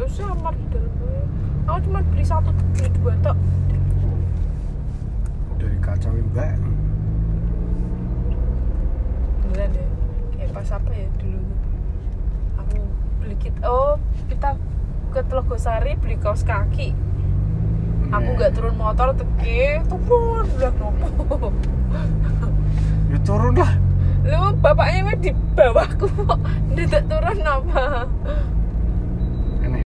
samar di dalam. Aku cuma beli 1 beli 2 tok. Dari kacau mbak. Beneran ya. Kayak pas apa ya dulu tuh. Aku beli kita ke Telogosari beli kaos kaki. Aku nggak turun motor turun udah nopo. Ya turun lah. Lu bapaknya mah di bawahku kok. Ndak turun apa?